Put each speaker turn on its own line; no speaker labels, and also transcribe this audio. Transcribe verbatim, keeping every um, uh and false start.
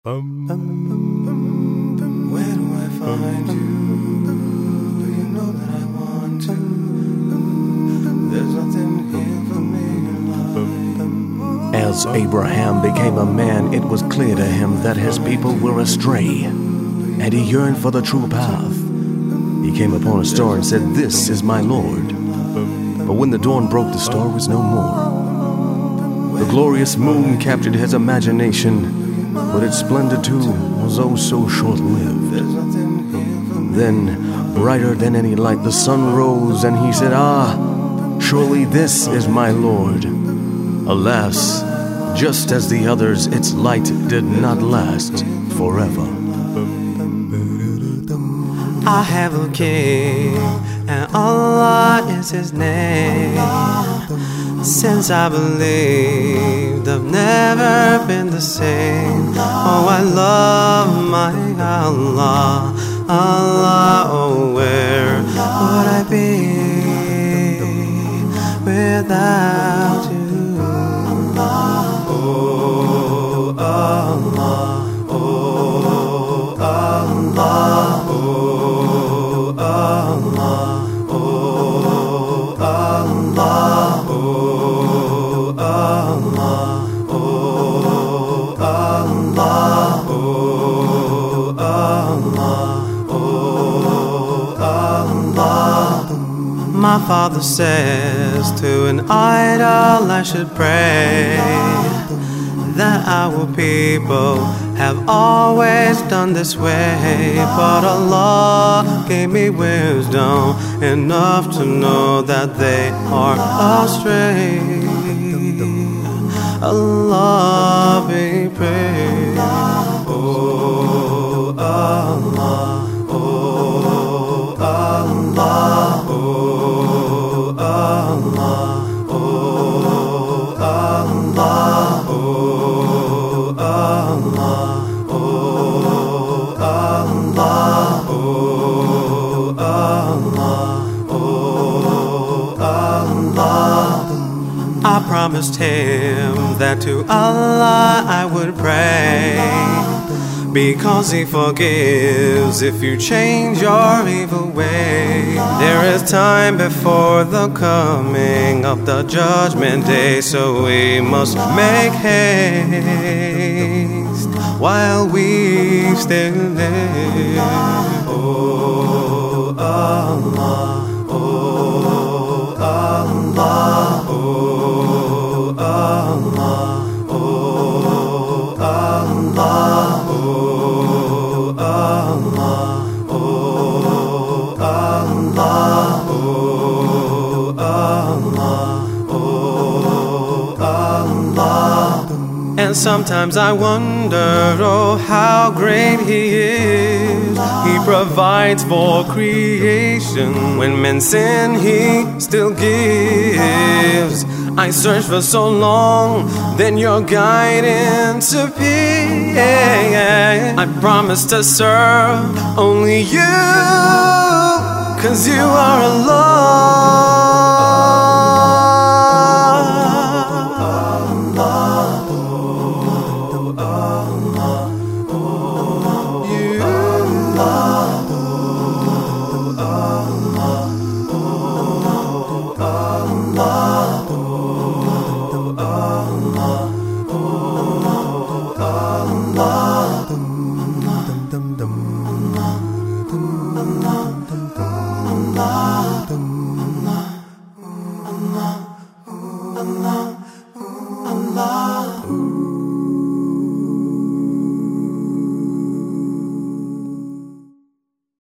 Bum, bum, bum, bum, where do I find you? Do you know that I want to? There's nothing here for me in life.
As Abraham became a man, it was clear to him that his people were astray, and he yearned for the true path. He came upon a star and said, "This is my Lord." But when the dawn broke, the star was no more. The glorious moon captured his imagination, but its splendor too was oh so short-lived. Then, brighter than any light, the sun rose, and he said, "Ah, surely this is my Lord." Alas, just as the others, its light did not last forever.
I have a king, and Allah is his name. Since I believed, I've never been the same. Oh, I love my Allah, Allah. Oh, where would I be without you? Oh, Allah, oh, Allah, oh, Allah, oh, Allah, oh, Allah, oh, Allah, oh, Allah, oh, Allah. My father says to an idol I should pray, that our people have always done this way. But Allah gave me wisdom enough to know that they are astray. Allah be praised. Oh, Allah, oh, Allah, oh, Allah, oh, Allah, oh, Allah, oh, Allah, oh, Allah, oh, Allah. I promised him that to Allah I would pray, because he forgives if you change your evil way. There is time before the coming of the judgment day, so we must make haste while we still live. Oh, Allah, oh, Allah, oh, Allah, oh, Allah, oh, Allah, oh, Allah, oh, Allah, oh, Allah. And sometimes I wonder, oh, how great He is. He provides for creation. When men sin, He still gives. I searched for so long, then your guidance appeared. I promise to serve only you, 'cause you are Allah.